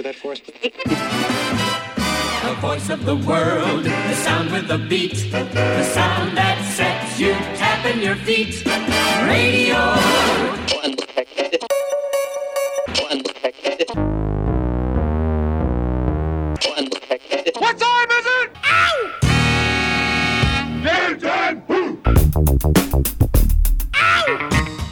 that for us? The voice of the world, the sound with the beat, the sound that sets you tapping your feet. Radio. What time is it? Ow! Game time! Ow!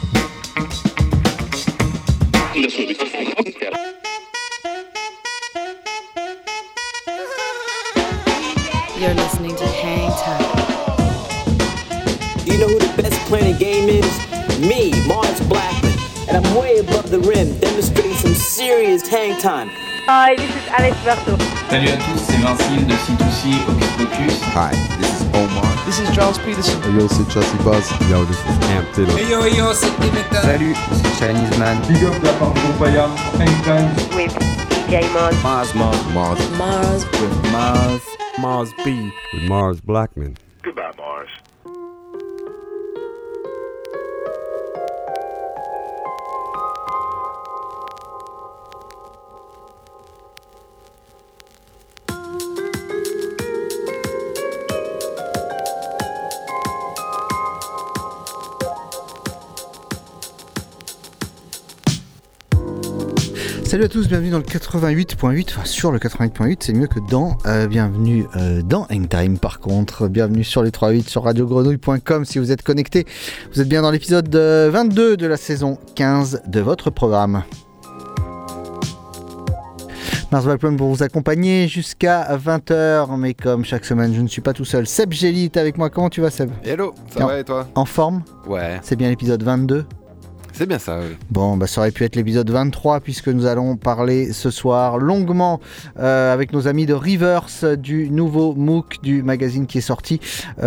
You're listening to Hang Time. You know who the best playing game is? Me, Mars Blackman. And I'm way above the rim, demonstrating some serious hang time. Hi, this is Alex Berto. Salut à tous, c'est Vincile de C2C Hocus Pocus. Hi, this is Omar. This is Charles Peterson. Hey yo, c'est Chelsea Buzz. Yo, this is Cam Taylor. Hey yo, c'est Dimitra. Salut, c'est Chinese Man. Big up la part de Compaya. Anytime. With DJ Mars. Mars. With Mars. Mars B. With Mars Blackman. Goodbye, Mars. Salut à tous, bienvenue dans le 88.8, enfin sur le 88.8, c'est mieux que dans, bienvenue dans Hangtime par contre, bienvenue sur les 38 sur radiogrenouille.com si vous êtes connectés, vous êtes bien dans l'épisode 22 de la saison 15 de votre programme. Mars Blackman pour vous accompagner jusqu'à 20h, mais comme chaque semaine je ne suis pas tout seul, Seb Gély est avec moi, comment tu vas Seb ? Hello, ça va et toi ? En forme ? Ouais. C'est bien l'épisode 22 ? C'est bien ça, oui. Bon, bah ça aurait pu être l'épisode 23 puisque nous allons parler ce soir longuement avec nos amis de Reverse du nouveau MOOC du magazine qui est sorti,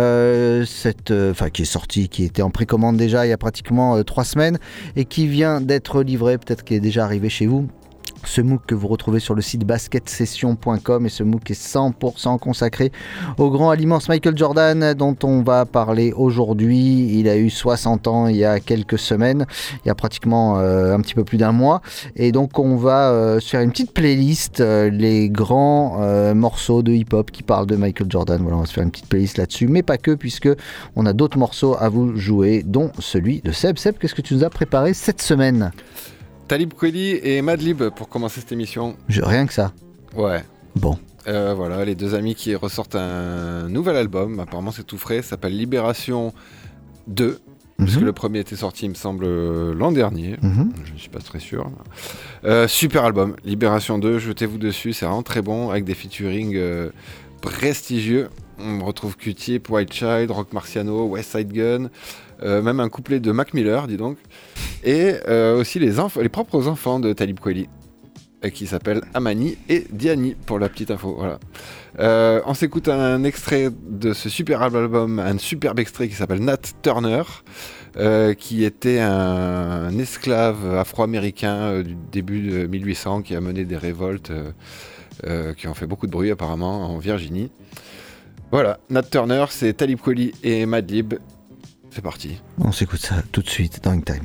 qui était en précommande déjà il y a pratiquement 3 semaines et qui vient d'être livré, peut-être qu'il est déjà arrivé chez vous. Ce MOOC que vous retrouvez sur le site basketsession.com et ce MOOC est 100% consacré au grand à l'immense Michael Jordan dont on va parler aujourd'hui. Il a eu 60 ans il y a quelques semaines, il y a pratiquement un petit peu plus d'un mois et donc on va se faire une petite playlist, les grands morceaux de hip-hop qui parlent de Michael Jordan. Voilà, on va se faire une petite playlist là-dessus, mais pas que puisque on a d'autres morceaux à vous jouer dont celui de Seb. Seb, qu'est-ce que tu nous as préparé cette semaine ? Talib Kweli et Madlib pour commencer cette émission. Rien que ça. Ouais. Bon. Voilà, les deux amis qui ressortent un nouvel album, apparemment c'est tout frais, ça s'appelle Libération 2, puisque le premier était sorti il me semble l'an dernier, je ne suis pas très sûr. Super album, Libération 2, jetez-vous dessus, c'est vraiment très bon, avec des featuring prestigieux. On retrouve Q-Tip, White Child, Rock Marciano, West Side Gun, même un couplet de Mac Miller, dis donc, et aussi les propres enfants de Talib Kweli, qui s'appellent Amani et Diani, pour la petite info. Voilà. On s'écoute un extrait de ce superbe album, un superbe extrait qui s'appelle Nat Turner, qui était un esclave afro-américain du début de 1800, qui a mené des révoltes qui ont fait beaucoup de bruit apparemment en Virginie. Voilà, Nat Turner, c'est Talib Kweli et Madlib. C'est parti. On s'écoute ça tout de suite dans Hangtime.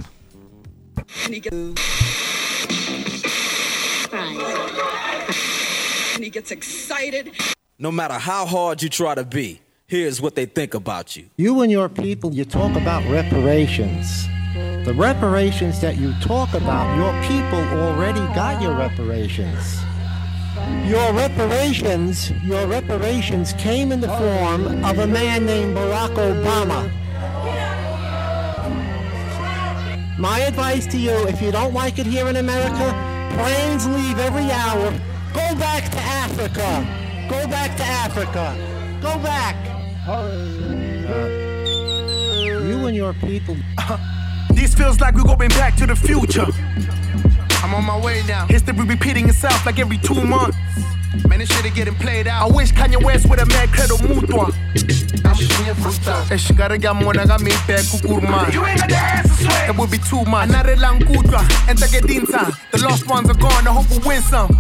He gets excited. No matter how hard you try to be, here's what they think about you. You and your people, you talk about reparations. The reparations that you talk about, your people already got your reparations. Your reparations came in the form of a man named Barack Obama. My advice to you, if you don't like it here in America, planes leave every hour. Go back to Africa. Go back to Africa. Go back. You and your people. This feels like we're going back to the future. I'm on my way now. History repeating itself like every 2 months. Man, this shit is getting played out. I wish Kanye West would have made credo mutua. You ain't got the answer, swear. It would be too much. Another langudra, enter get dinsa. The lost ones are gone, I hope we win some.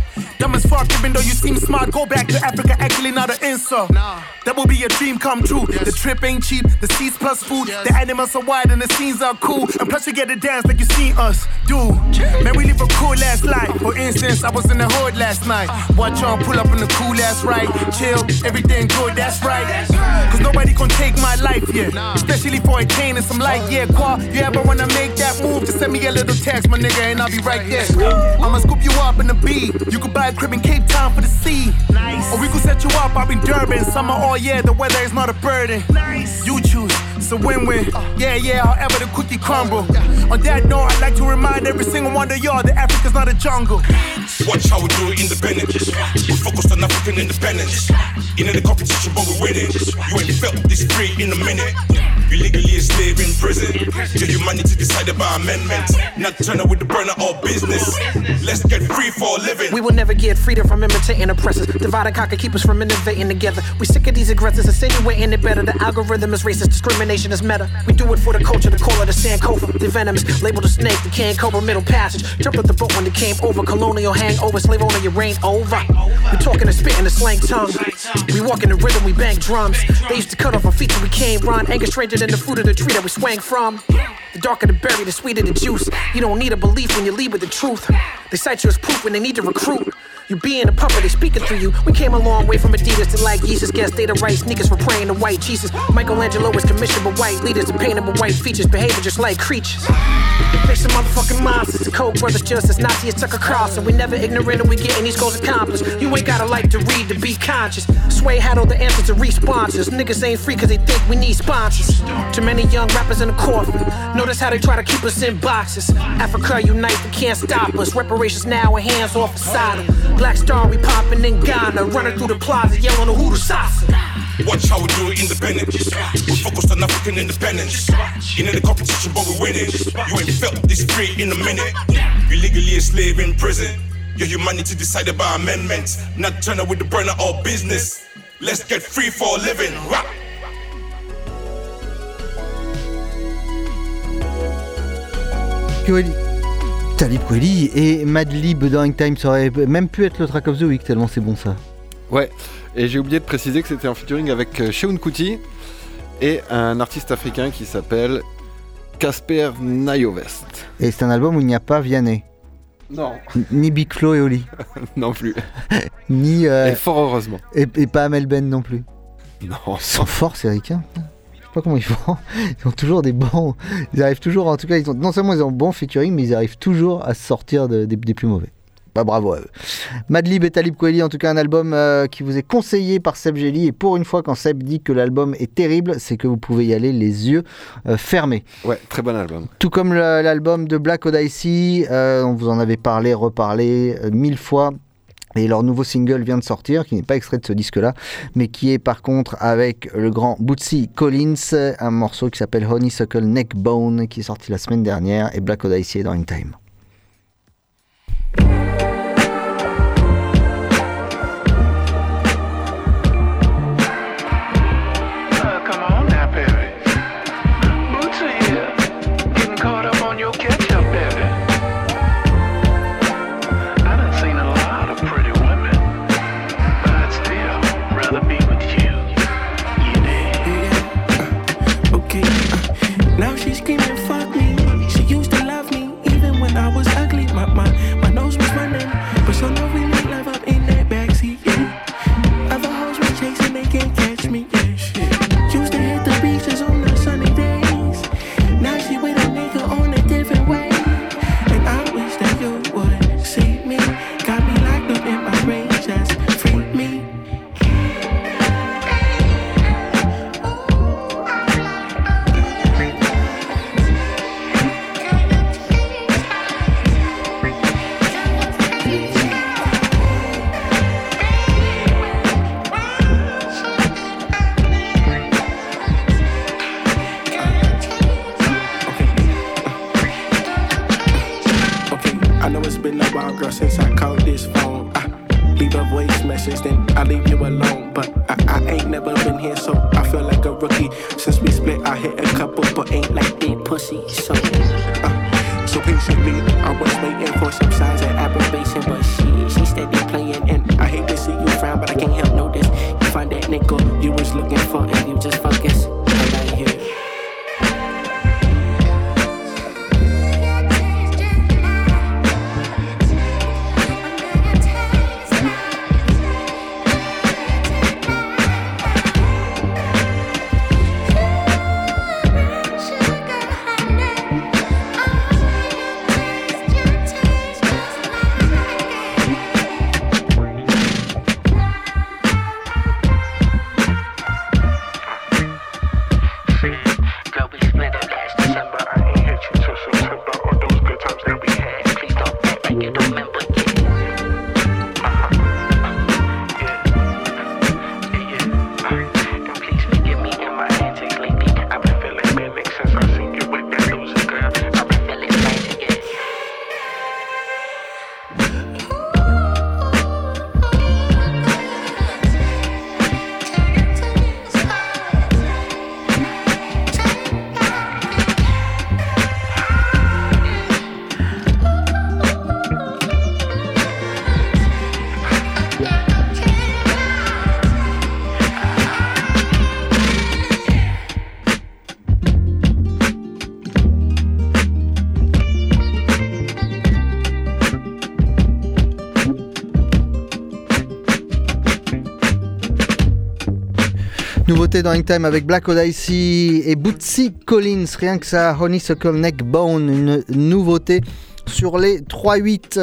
Dumb as fuck, even though you seem smart. Go back to Africa, actually not an insult. That will be a dream come true. The trip ain't cheap, the seats plus food. The animals are wide and the scenes are cool. And plus you get to dance like you seen us do. Man, we live a cool ass life. For instance, I was in the hood last night. Watch y'all pull up in the cool ass ride. Chill, everything good, that's right. Cause nobody gon' take my life, yeah. Especially for a cane and some light, yeah. Qua, you ever wanna make that move? Just send me a little text, my nigga, and I'll be right there. I'ma scoop you up in the B. You could buy a crib in Cape Town for the sea. Nice. Or we could set you up in Durban. Summer all year, the weather is not a burden. Nice. You choose, it's a win-win. Yeah, however the cookie crumble. On that note, I'd like to remind every single one of y'all that Africa's not a jungle. Watch how we do it independent. We're focused on African independence. In the competition, but we're winning. You ain't felt this free in a minute. You legally a slave in prison. Your humanity decided by amendment. Not turn with the burner or business. Let's get free for a living. We will never get freedom from imitating oppressors. Divide and conquer, keep us from innovating together. We sick of these aggressors, insinuating it better. The algorithm is racist, discrimination is meta. We do it for the culture, the call of the Sankofa. The venomous, labeled a snake, the can cobra, middle passage. Jumped off the boat when it came over. Colonial hangover, slave owner, your reign over. We talking and spitting the slang tongue. We walk in the rhythm, we bang drums. They used to cut off our feet so we can't run. Anger stranger than the fruit of the tree that we swang from. The darker the berry, the sweeter the juice. You don't need a belief when you lead with the truth. They cite you as proof when they need to recruit. You being a puppet, they speaking through you. We came a long way from Adidas to like Jesus. Guess they the right sneakers for praying to white Jesus. Michelangelo was commissioned by white leaders to paint them with white features, behaving just like creatures. They some motherfucking monsters. The Koch brothers just as Nazi as Tucker Carlson. We never ignorant and we getting these goals accomplished. You ain't gotta like to read to be conscious. Sway had all the answers to re-sponsors. Niggas ain't free cause they think we need sponsors. Too many young rappers in the coffin. Notice how they try to keep us in boxes. Africa unite, they can't stop us. Reparations now and hands off Assad. Black Star, we poppin' in Ghana. Running through the plaza, yelling the Hoodoo Sasa. Watch how we do it independent. We're focused on African independence. In the competition, but we're winning. You ain't felt this free in a minute. You legally a slave in prison. Your humanity decided by amendment. Not turn with the burner or business. Let's get free for a living. Rap. Talib Kweli et Madlib dans Time, ça aurait même pu être le track of the week tellement c'est bon ça. Ouais, et j'ai oublié de préciser que c'était en featuring avec Seun Kuti et un artiste africain qui s'appelle Casper Nyovest. Et c'est un album où il n'y a pas Vianney. Non. Ni Big Flo et Oli. Non plus. Ni. Et fort heureusement. Et pas Amel Ben non plus. Non. Ils sont forts ces ricains. Je sais pas comment ils font. Ils ont toujours des bons. Ils arrivent toujours, en tout cas, non seulement ils ont bon featuring, mais ils arrivent toujours à sortir des plus mauvais. Bah, bravo à eux. Madlib et Talib Kweli, en tout cas un album qui vous est conseillé par Seb Gély. Et pour une fois, quand Seb dit que l'album est terrible, c'est que vous pouvez y aller les yeux fermés. Ouais, très bon album. Tout comme l'album de Black Odyssey, on vous en avait parlé, reparlé 1000 fois. Et leur nouveau single vient de sortir, qui n'est pas extrait de ce disque-là, mais qui est par contre avec le grand Bootsy Collins, un morceau qui s'appelle Honeysuckle Neckbone, qui est sorti la semaine dernière, et Black Odyssey est dans In Time. Now she's screaming, fuck me. She used to love me, even when I was ugly. My nose was running, but so now we made love up in that backseat, yeah. Other hoes were chasing, they can't catch me, yeah, shit. Used to hit the beaches on the sunny days. Now she with a nigga on a different way. And I wish that you would see me. Got me locked up in my rage, just free me. Girl, since I called this phone, I leave a voice message, then I leave you alone. But I ain't never been here, so I feel like a rookie. Since we split, I hit a couple, but ain't like big pussy. So patiently, I was waiting for some signs of aberration, but she steady playing Nouveauté dans Hangtime avec Black Odyssey et Bootsy Collins, rien que ça, Honeysuckle Neckbone, une nouveauté sur les 3-8.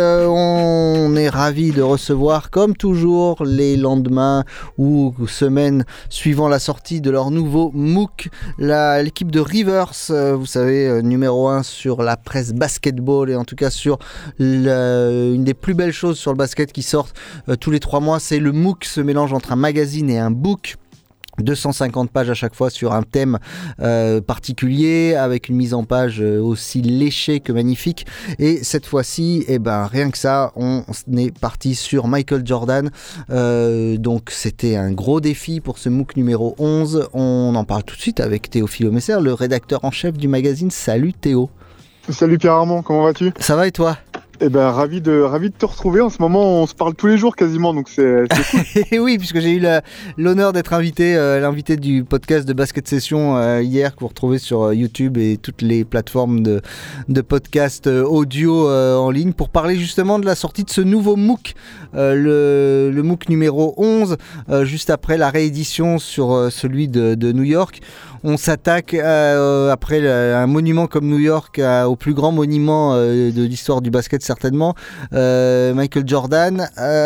On est ravis de recevoir, comme toujours, les lendemains ou semaines suivant la sortie de leur nouveau MOOC, l'équipe de Rivers, vous savez, numéro 1 sur la presse basketball et en tout cas sur une des plus belles choses sur le basket qui sortent tous les 3 mois, c'est le MOOC, ce mélange entre un magazine et un book. 250 pages à chaque fois sur un thème particulier, avec une mise en page aussi léchée que magnifique. Et cette fois-ci, rien que ça, on est parti sur Michael Jordan. Donc c'était un gros défi pour ce MOOC numéro 11. On en parle tout de suite avec Théophile Messer, le rédacteur en chef du magazine. Salut Théo. Salut Pierre-Armand, comment vas-tu ? Ça va et toi ? Ravi de te retrouver. En ce moment, on se parle tous les jours quasiment, donc c'est cool. Et oui, puisque j'ai eu l'honneur d'être l'invité du podcast de Basket Session hier, que vous retrouvez sur YouTube et toutes les plateformes de podcast audio en ligne, pour parler justement de la sortie de ce nouveau MOOC, le MOOC numéro 11, juste après la réédition sur celui de New York. On s'attaque après un monument comme New York au plus grand monument de l'histoire du basket certainement, Michael Jordan.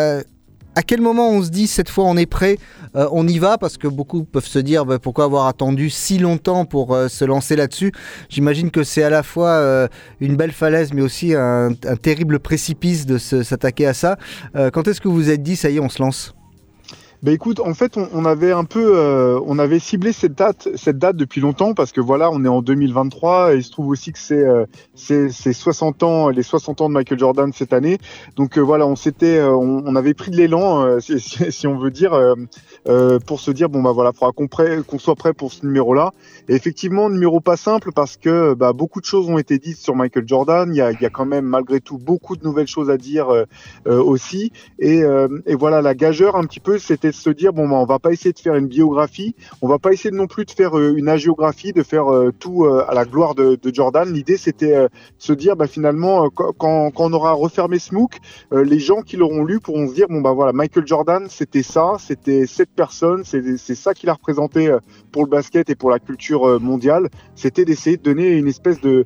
À quel moment on se dit cette fois on est prêt, on y va, parce que beaucoup peuvent se dire pourquoi avoir attendu si longtemps pour se lancer là-dessus. J'imagine que c'est à la fois une belle falaise mais aussi un terrible précipice de s'attaquer à ça. Quand est-ce que vous vous êtes dit ça y est on se lance ? Écoute, en fait, on avait un peu, on avait ciblé cette date depuis longtemps, parce que voilà, on est en 2023 et il se trouve aussi que c'est 60 ans, les 60 ans de Michael Jordan cette année. Donc voilà, on avait pris de l'élan, si on veut dire, pour se dire faudra qu'on soit prêt pour ce numéro-là. Et effectivement, numéro pas simple, parce que beaucoup de choses ont été dites sur Michael Jordan. Il y a quand même malgré tout beaucoup de nouvelles choses à dire aussi. Et voilà, la gageure un petit peu, c'était de se dire on va pas essayer de faire une biographie, on va pas essayer non plus de faire une hagiographie, de faire tout à la gloire de Jordan. L'idée c'était de se dire finalement quand on aura refermé ce MOOC, les gens qui l'auront lu pourront se dire Michael Jordan c'était ça, c'était cette personne, c'est ça qu'il a représenté pour le basket et pour la culture mondiale. C'était d'essayer de donner une espèce de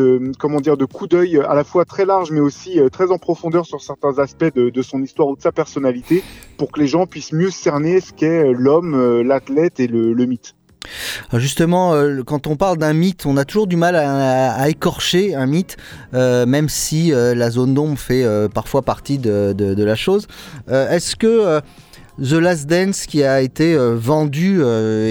coup d'œil à la fois très large mais aussi très en profondeur sur certains aspects de son histoire ou de sa personnalité, pour que les gens puissent mieux cerner ce qu'est l'homme, l'athlète et le mythe. Justement, quand on parle d'un mythe, on a toujours du mal à écorcher un mythe, même si la zone d'ombre fait parfois partie de la chose. Est-ce que The Last Dance, qui a été vendu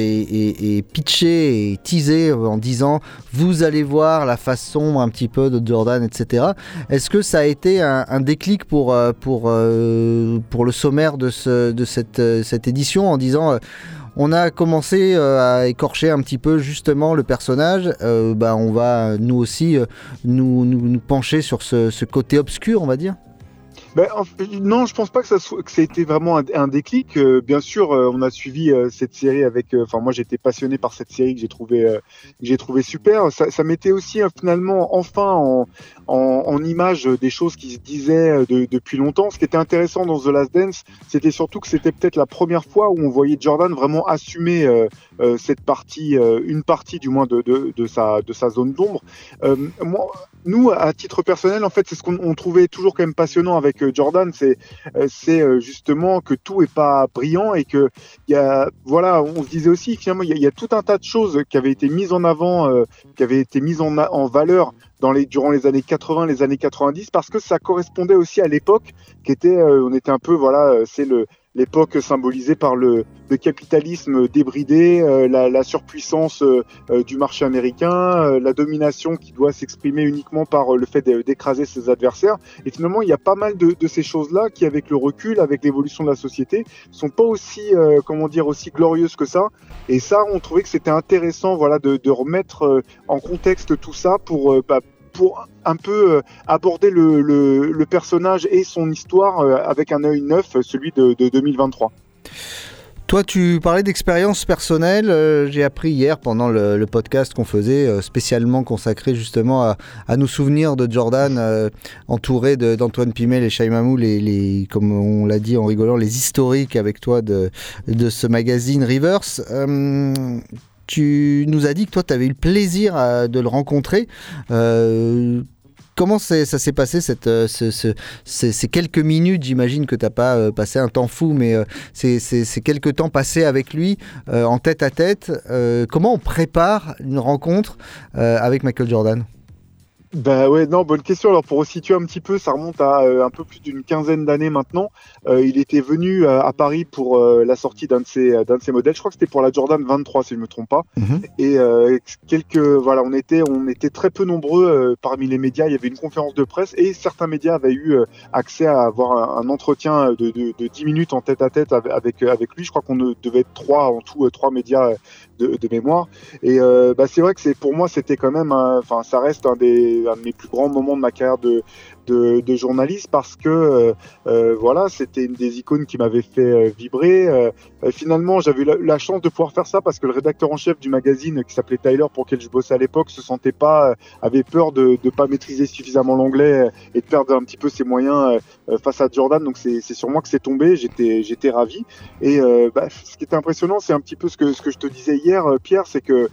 et pitché et teasé en disant vous allez voir la face sombre un petit peu de Jordan, etc. Est-ce que ça a été un déclic pour le sommaire de cette édition, en disant on a commencé à écorcher un petit peu justement le personnage, on va nous aussi nous pencher sur ce côté obscur, on va dire? Non, je pense pas que ça ait été vraiment un déclic. Bien sûr, on a suivi cette série avec. Moi, j'étais passionné par cette série que j'ai trouvé super. Ça mettait aussi finalement enfin en image des choses qui se disaient depuis longtemps. Ce qui était intéressant dans The Last Dance, c'était surtout que c'était peut-être la première fois où on voyait Jordan vraiment assumer cette partie, une partie du moins de sa zone d'ombre. Nous, à titre personnel, en fait, c'est ce qu'on trouvait toujours quand même passionnant avec Jordan, c'est justement que tout est pas brillant et que on se disait aussi finalement il y a tout un tas de choses qui avaient été mises en avant, qui avaient été mises en valeur durant les années 80, les années 90, parce que ça correspondait aussi à l'époque qui était, on était un peu c'est l'époque symbolisée par le capitalisme débridé, la surpuissance du marché américain, la domination qui doit s'exprimer uniquement par le fait d'écraser ses adversaires. Et finalement, il y a pas mal de ces choses-là qui, avec le recul, avec l'évolution de la société, sont pas aussi, aussi glorieuses que ça. Et ça, on trouvait que c'était intéressant, de remettre en contexte tout ça pour un peu aborder le personnage et son histoire avec un œil neuf, celui de 2023. Toi, tu parlais d'expérience personnelle. J'ai appris hier pendant le podcast qu'on faisait, spécialement consacré justement à nos souvenirs de Jordan, entouré d'Antoine Pimel et Shai Mamou, comme on l'a dit en rigolant, les historiques avec toi de ce magazine Rivers. Tu nous as dit que toi, tu avais eu le plaisir de le rencontrer. Comment ça s'est passé ces quelques minutes? J'imagine que tu n'as pas passé un temps fou, mais ces quelques temps passés avec lui en tête à tête. Comment on prépare une rencontre avec Michael Jordan? Bah ouais, non, bonne question. Alors pour resituer un petit peu, ça remonte à un peu plus d'une quinzaine d'années maintenant. Il était venu à Paris pour la sortie d'un de ses modèles. Je crois que c'était pour la Jordan 23 si je me trompe pas. Et voilà, on était très peu nombreux parmi les médias. Il y avait une conférence de presse et certains médias avaient eu accès à avoir un entretien de 10 minutes en tête à tête avec lui. Je crois qu'on devait être en tout 3 médias de mémoire. Et c'est vrai que pour moi c'était quand même, ça reste un de mes plus grands moments de ma carrière de journaliste parce que voilà, c'était une des icônes qui m'avait fait vibrer. Finalement, j'avais eu la chance de pouvoir faire ça parce que le rédacteur en chef du magazine qui s'appelait Tyler, pour lequel je bossais à l'époque, avait peur de pas maîtriser suffisamment l'anglais et de perdre un petit peu ses moyens face à Jordan. Donc c'est sur moi que c'est tombé. J'étais ravi. Et ce qui était impressionnant, c'est un petit peu ce que je te disais hier, Pierre, c'est que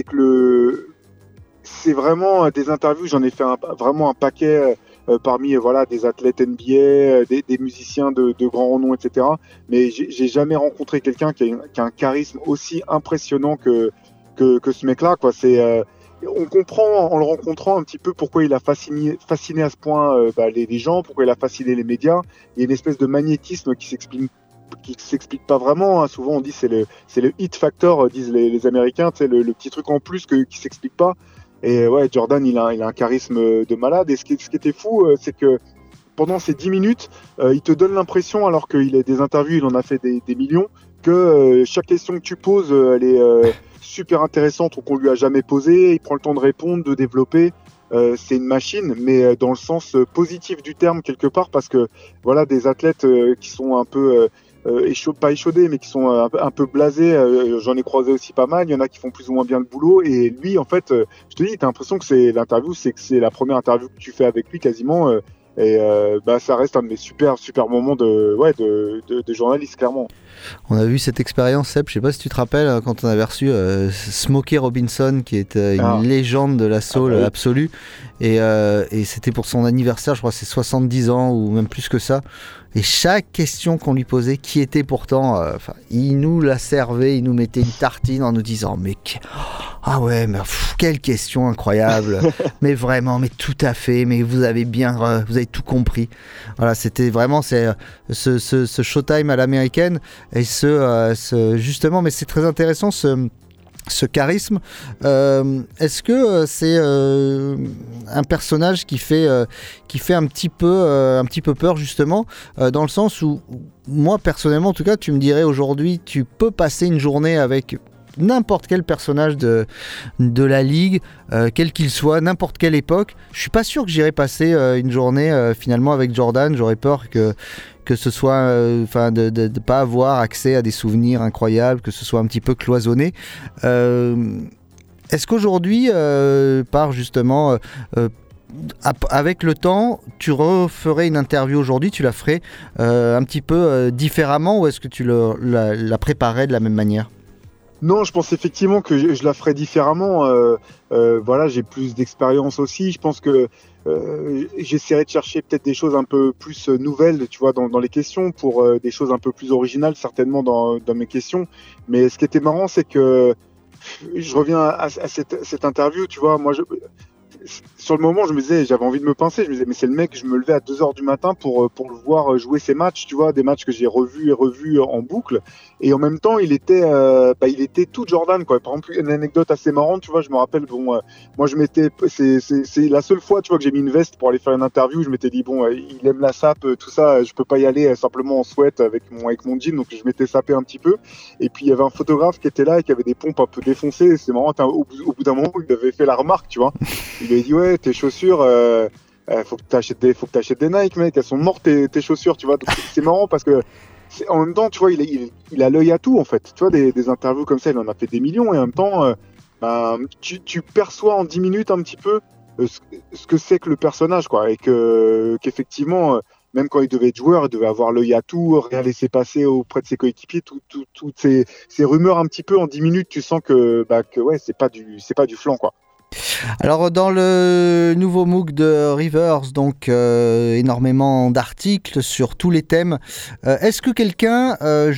c'est vraiment des interviews. J'en ai fait vraiment un paquet parmi des athlètes NBA, des musiciens de grand renom, etc. Mais j'ai jamais rencontré quelqu'un qui a un charisme aussi impressionnant que ce mec-là, quoi. On comprend en le rencontrant un petit peu pourquoi il a fasciné à ce point les gens, pourquoi il a fasciné les médias. Il y a une espèce de magnétisme qui s'explique pas vraiment, hein. Souvent on dit c'est le hit factor, disent les Américains, tu sais, le petit truc en plus qui s'explique pas. Et ouais, Jordan il a un charisme de malade. Et ce qui était fou, c'est que pendant ces 10 minutes, il te donne l'impression, alors qu'il a des interviews, il en a fait des millions, que chaque question que tu poses, elle est super intéressante ou qu'on lui a jamais posée. Il prend le temps de répondre, de développer. C'est une machine, mais dans le sens positif du terme quelque part, parce que voilà, des athlètes qui sont un peu pas échaudés, mais qui sont un peu blasés, j'en ai croisé aussi pas mal. Il y en a qui font plus ou moins bien le boulot, et lui, en fait, je te dis, t'as l'impression que c'est la première interview que tu fais avec lui quasiment, et ça reste un de mes super moments de journaliste, clairement. On a vu cette expérience, Seb, je sais pas si tu te rappelles, quand on avait reçu Smokey Robinson, qui est une légende de la soul absolue, et c'était pour son anniversaire, je crois que c'est 70 ans ou même plus que ça. Et chaque question qu'on lui posait, qui était pourtant, il nous la servait, il nous mettait une tartine en nous disant ah ouais, mais quelle question incroyable, mais vraiment, mais tout à fait, mais vous avez tout compris. Voilà, c'était vraiment ce Showtime à l'américaine, et justement, mais c'est très intéressant ce charisme. Est-ce que c'est un personnage qui fait un petit peu peur, justement, dans le sens où, moi personnellement en tout cas, tu me dirais aujourd'hui, tu peux passer une journée avec n'importe quel personnage de la ligue, quel qu'il soit, n'importe quelle époque. Je suis pas sûr que j'irais passer une journée finalement avec Jordan. J'aurais peur que ce soit, de pas avoir accès à des souvenirs incroyables, que ce soit un petit peu cloisonné. Est-ce qu'aujourd'hui, avec le temps, tu referais une interview aujourd'hui, tu la ferais un petit peu différemment, ou est-ce que tu la préparais de la même manière ? Non, je pense effectivement que je la ferais différemment. Voilà, j'ai plus d'expérience aussi. Je pense que j'essaierai de chercher peut-être des choses un peu plus nouvelles, tu vois, dans les questions, pour des choses un peu plus originales certainement dans mes questions. Mais ce qui était marrant, c'est que je reviens à cette interview, tu vois, moi sur le moment, je me disais, j'avais envie de me pincer. Je me disais, mais c'est le mec, je me levais à 2h du matin pour le voir jouer ses matchs, tu vois, des matchs que j'ai revus et revus en boucle. Et en même temps, il était tout Jordan, quoi. Par exemple, une anecdote assez marrante, tu vois, je me rappelle, moi, c'est la seule fois, tu vois, que j'ai mis une veste pour aller faire une interview. Je m'étais dit, il aime la sape, tout ça, je peux pas y aller simplement en sweat avec mon jean, donc je m'étais sapé un petit peu. Et puis, il y avait un photographe qui était là et qui avait des pompes un peu défoncées. Et c'est marrant, au bout d'un moment, il avait fait la remarque, tu vois. Il lui a dit, ouais, tes chaussures, faut que t'achètes des Nike, mec, elles sont mortes tes chaussures, tu vois. Donc, c'est marrant parce que en même temps, tu vois, il a l'œil à tout en fait. Tu vois, des interviews comme ça, il en a fait des millions et en même temps, tu perçois en 10 minutes un petit peu ce que c'est que le personnage, quoi, et qu'effectivement, même quand il devait être joueur, il devait avoir l'œil à tout, rien laisser passer auprès de ses coéquipiers, toutes ces rumeurs un petit peu en 10 minutes, tu sens que ouais, c'est pas du flan, quoi. Alors dans le nouveau MOOC de Rivers, donc énormément d'articles sur tous les thèmes. Est-ce que quelqu'un,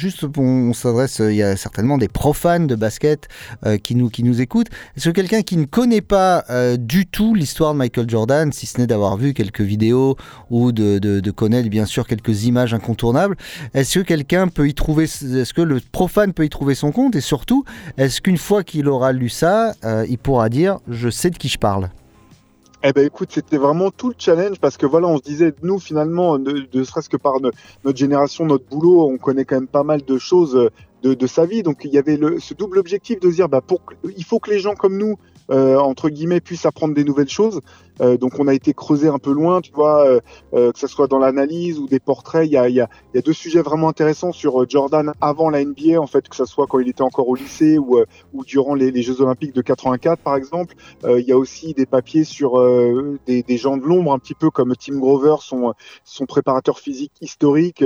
on s'adresse, il y a certainement des profanes de basket qui nous écoutent. Est-ce que quelqu'un qui ne connaît pas du tout l'histoire de Michael Jordan, si ce n'est d'avoir vu quelques vidéos ou de connaître bien sûr quelques images incontournables, est-ce que quelqu'un peut y trouver, est-ce que le profane peut y trouver son compte, et surtout, est-ce qu'une fois qu'il aura lu ça, il pourra dire je sais de qui je parle? Eh ben écoute, c'était vraiment tout le challenge, parce que voilà, on se disait, nous finalement, ne serait-ce que par notre génération, notre boulot, on connaît quand même pas mal de choses de sa vie, donc il y avait ce double objectif de se dire, il faut que les gens comme nous, entre guillemets, puissent apprendre des nouvelles choses. Donc on a été creusé un peu loin, tu vois, que ce soit dans l'analyse ou des portraits. Il y a 2 sujets vraiment intéressants sur Jordan avant la NBA, en fait, que ce soit quand il était encore au lycée ou durant les Jeux Olympiques de 84, par exemple. Il y a aussi des papiers sur des gens de l'ombre, un petit peu comme Tim Grover, son préparateur physique historique,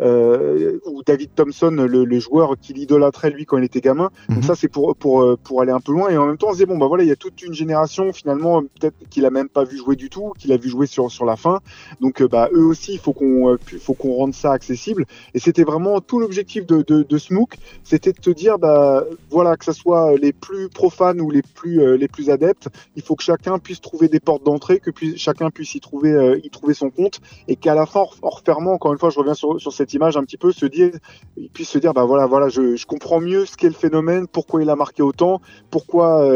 ou David Thompson, le joueur qu'il idolâtrait lui quand il était gamin. Donc ça, c'est pour aller un peu loin. Et en même temps, on se dit, voilà, il y a toute une génération finalement, peut-être qu'il a même pas vu jouer du tout, qu'il a vu jouer sur la fin. Donc eux aussi, il faut qu'on rende ça accessible. Et c'était vraiment tout l'objectif de ce MOOC, c'était de te dire, voilà, que ce soit les plus profanes ou les plus adeptes, il faut que chacun puisse trouver des portes d'entrée, que chacun puisse y trouver son compte, et qu'à la fin, en refermant, encore une fois, je reviens sur cette image un petit peu, il puisse se dire, voilà, je comprends mieux ce qu'est le phénomène, pourquoi il a marqué autant, pourquoi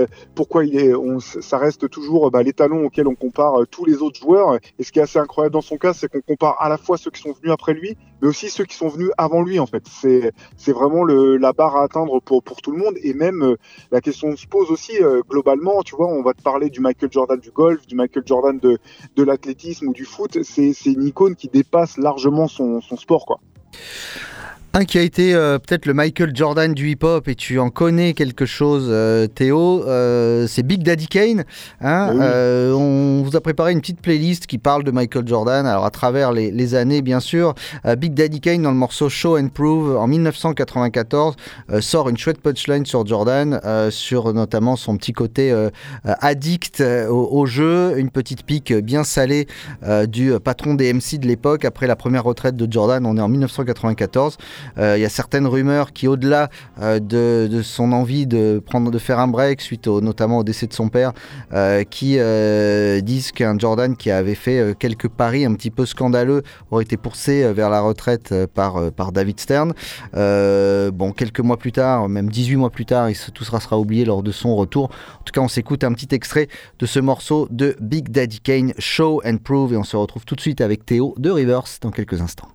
ça reste toujours l'étalon auquel on compare tous les autres joueurs. Et ce qui est assez incroyable dans son cas, c'est qu'on compare à la fois ceux qui sont venus après lui, mais aussi ceux qui sont venus avant lui, en fait. C'est vraiment la barre à atteindre pour tout le monde. Et même la question se pose aussi globalement, tu vois, on va te parler du Michael Jordan du golf, du Michael Jordan de l'athlétisme ou du foot. C'est une icône qui dépasse largement son sport, quoi. Un qui a été peut-être le Michael Jordan du hip-hop, et tu en connais quelque chose, Théo, c'est Big Daddy Kane. Hein, oui. On vous a préparé une petite playlist qui parle de Michael Jordan, alors à travers les années bien sûr. Big Daddy Kane, dans le morceau Show and Prove, en 1994, sort une chouette punchline sur Jordan, sur notamment son petit côté addict au jeu, une petite pique bien salée du patron des MC de l'époque. Après la première retraite de Jordan, on est en 1994. Il y a certaines rumeurs qui, au-delà de son envie de faire un break suite notamment au décès de son père, qui disent qu'un Jordan qui avait fait quelques paris un petit peu scandaleux aurait été poussé vers la retraite par David Stern. Quelques mois plus tard, même 18 mois plus tard, tout sera oublié lors de son retour. En tout cas, on s'écoute un petit extrait de ce morceau de Big Daddy Kane, Show and Prove, et on se retrouve tout de suite avec Théo de Rivers dans quelques instants.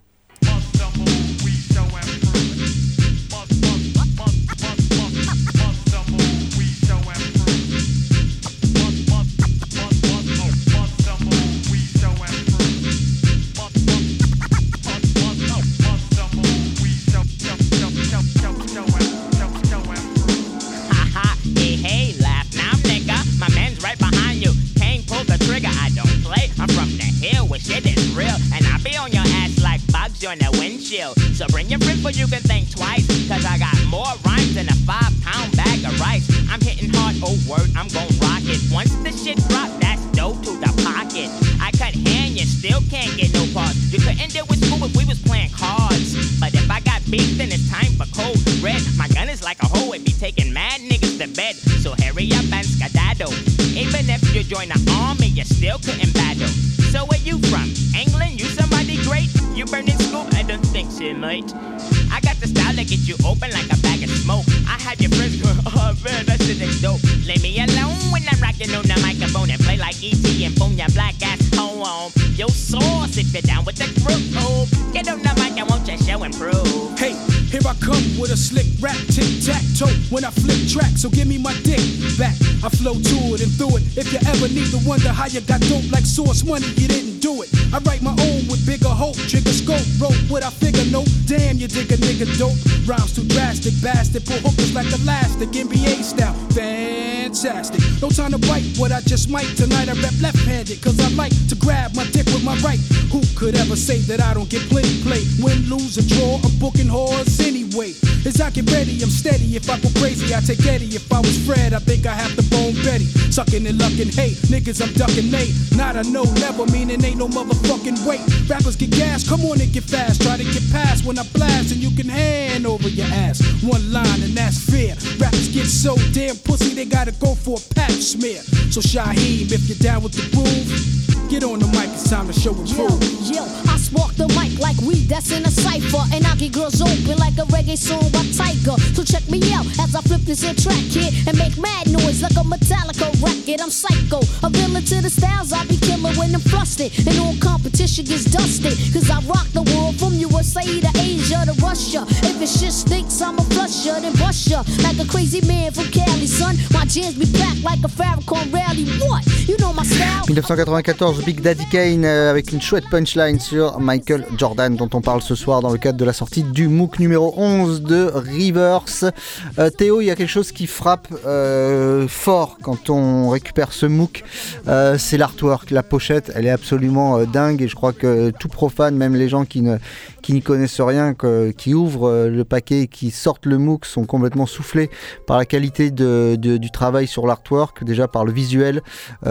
On the windshield, so bring your friend, but you can think twice, cause I got more rhymes than a 5-pound bag of rice. I'm hitting hard, oh word, I'm gon' rock it. Once the shit drop, that's dope to the pocket. I cut hand, you still can't get no pause. You couldn't deal with school if we was playing cards, but if I got beef, then it's time for cold red. My gun is like a hoe, it be taking mad niggas to bed, so hurry up and skedaddle. Even if you join the army, you still couldn't battle. So where you from? England? You somebody great? You burning school? I don't think so, mate. I got the style that get you open like a bag of smoke. I have your friends going, oh man, that shit is dope. Leave me alone when I'm rocking on the microphone and play like E.T. and phone your black ass home. Yo, sauce if you're down with the group. Oh, get on the mic and won't you show and prove? Hey, here I come with a slick rap, tic-tac-toe when I flip track, so give me my dick back. I flow to it and through it. If you ever need to wonder how you got dope like Source Money, you didn't do it. I write my own with bigger hope, trigger scope, wrote what I figure, no, damn, you dig a nigga dope? Rhymes too drastic, bastard, pull hookers like elastic, NBA style, fantastic. No time to bite what I just might. Tonight I rap left-handed, cause I like to grab my dick with my right. Who could ever say that I don't get plenty play? Win, lose, or draw, I'm booking whores anyway. As I get ready, I'm steady. If I go crazy, I take Eddie. If I was Fred, I think I have to bone Betty. Sucking and lucking, hey, niggas, I'm ducking Nate. Not a no, never meaning ain't no motherfucking wait. Rappers get gas, come on and get fast. Try to get past when I blast, and you can hand over your ass. One line, and that's fair. Rappers get so damn pussy, they gotta go for a pap smear. So Shaheem, if you're down with the groove, get on the mic, it's time to show and prove. Yo, I spark the mic like weed that's in a cypher, and I get girls open like a reggae song by Tiger. So check me out as I flip this here track here and make mad noise like a Metallica record. I'm psycho, a villain to the styles I be killing when I'm flustered, and all competition gets dusted. Cause I rock the world from USA to Asia to Russia. If it shit stinks, I'ma flush ya, then bust ya like a crazy man from Cali, son. My jams be packed like a Farrakhan rally. What? You know my style. 1994, Big Daddy Kane avec une chouette punchline sur Michael Jordan dont on parle ce soir dans le cadre de la sortie du MOOC numéro 11 de Rivers. Théo, il y a quelque chose qui frappe fort quand on récupère ce MOOC, c'est l'artwork, la pochette, elle est absolument dingue, et je crois que tout profane, même les gens qui n'y connaissent rien, qui ouvrent le paquet et qui sortent le MOOC sont complètement soufflés par la qualité du travail sur l'artwork, déjà par le visuel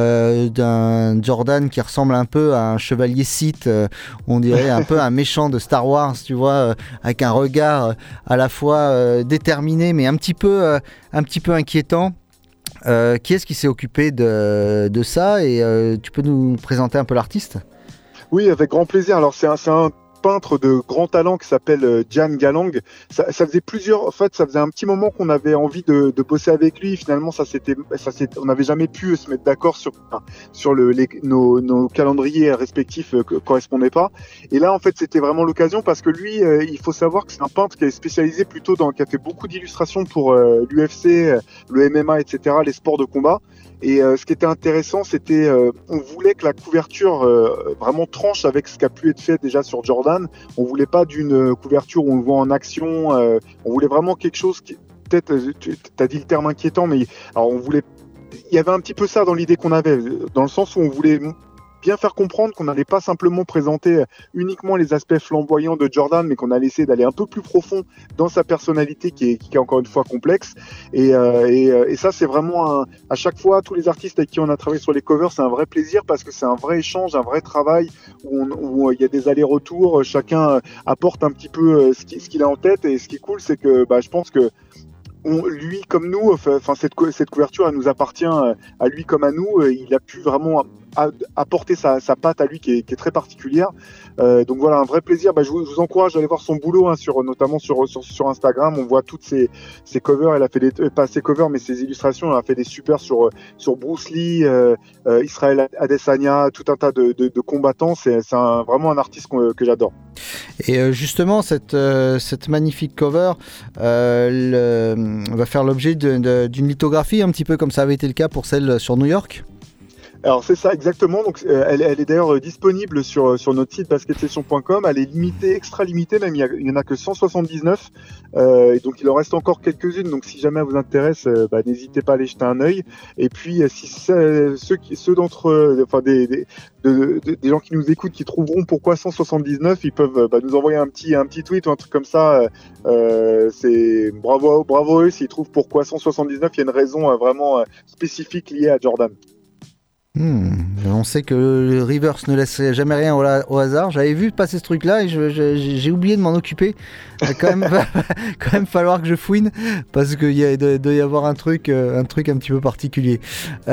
d'un Jordan qui ressemble un peu à un chevalier Sith, on dirait un peu un méchant de Star Wars, tu vois, avec un regard à la fois déterminé mais un petit peu inquiétant. Qui est-ce qui s'est occupé de ça, et tu peux nous présenter un peu l'artiste ? Oui, avec grand plaisir. Alors c'est un peintre de grand talent qui s'appelle Jan Galang. Ça faisait ça faisait un petit moment qu'on avait envie de bosser avec lui. Finalement, on n'avait jamais pu se mettre d'accord sur nos calendriers respectifs correspondaient pas. Et là, en fait, c'était vraiment l'occasion parce que lui, il faut savoir que c'est un peintre qui est spécialisé qui a fait beaucoup d'illustrations pour l'UFC, le MMA, etc., les sports de combat. Et ce qui était intéressant, c'était on voulait que la couverture vraiment tranche avec ce qui a pu être fait déjà sur Jordan. On voulait pas d'une couverture où on le voit en action. On voulait vraiment quelque chose qui, peut-être, tu as dit le terme inquiétant, mais alors il y avait un petit peu ça dans l'idée qu'on avait, dans le sens où on voulait bien faire comprendre qu'on n'allait pas simplement présenter uniquement les aspects flamboyants de Jordan, mais qu'on allait essayer d'aller un peu plus profond dans sa personnalité qui est encore une fois complexe. Et ça, c'est vraiment à chaque fois, tous les artistes avec qui on a travaillé sur les covers, c'est un vrai plaisir parce que c'est un vrai échange, un vrai travail où il y a des allers-retours, chacun apporte un petit peu ce qu'il a en tête. Et ce qui est cool, c'est que je pense que lui comme nous, cette couverture, elle nous appartient à lui comme à nous. Il a pu vraiment apporter sa patte à lui qui est très particulière. Donc voilà, un vrai plaisir. Je vous encourage à aller voir son boulot, notamment sur Instagram. On voit toutes ses covers. Elle a fait pas ses covers, mais ses illustrations. Elle a fait des super sur Bruce Lee, Israël Adesanya, tout un tas de combattants. C'est vraiment un artiste que j'adore. Et justement, cette magnifique cover va faire l'objet d'une lithographie, un petit peu comme ça avait été le cas pour celle sur New York. Alors c'est ça exactement, donc elle est d'ailleurs disponible sur notre site basketsession.com, elle est limitée, extra limitée même, il y en a que 179, et donc il en reste encore quelques-unes, donc si jamais elle vous intéresse, n'hésitez pas à aller jeter un œil. Et puis si ceux d'entre des gens qui nous écoutent qui trouveront pourquoi 179, ils peuvent nous envoyer un petit tweet ou un truc comme ça. C'est bravo à eux s'ils trouvent pourquoi 179. Il y a une raison vraiment spécifique liée à Jordan. On sait que le Rivers ne laisse jamais rien au hasard. J'avais vu passer ce truc-là et j'ai oublié de m'en occuper. Il va quand même falloir que je fouine parce qu'il doit y avoir un truc un petit peu particulier.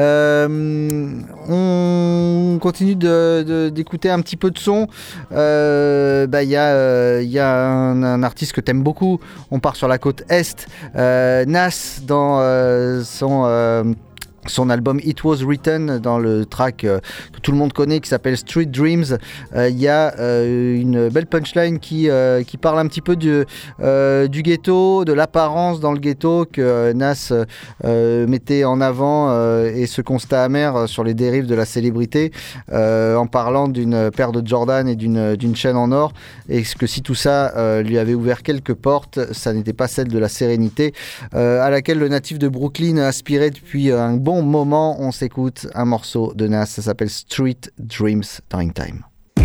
On continue d'écouter un petit peu de son. Il y a un artiste que t'aimes beaucoup. On part sur la côte Est. Nas dans son album It Was Written, dans le track que tout le monde connaît qui s'appelle Street Dreams. Il y a une belle punchline qui parle un petit peu du ghetto, de l'apparence dans le ghetto que Nas mettait en avant et ce constat amer sur les dérives de la célébrité en parlant d'une paire de Jordan et d'une chaîne en or, et que si tout ça lui avait ouvert quelques portes, ça n'était pas celle de la sérénité à laquelle le natif de Brooklyn aspirait depuis un bon moment. On s'écoute un morceau de Nas, ça s'appelle Street Dreams dans Hangtime.